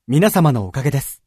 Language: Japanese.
皆様のおかげです。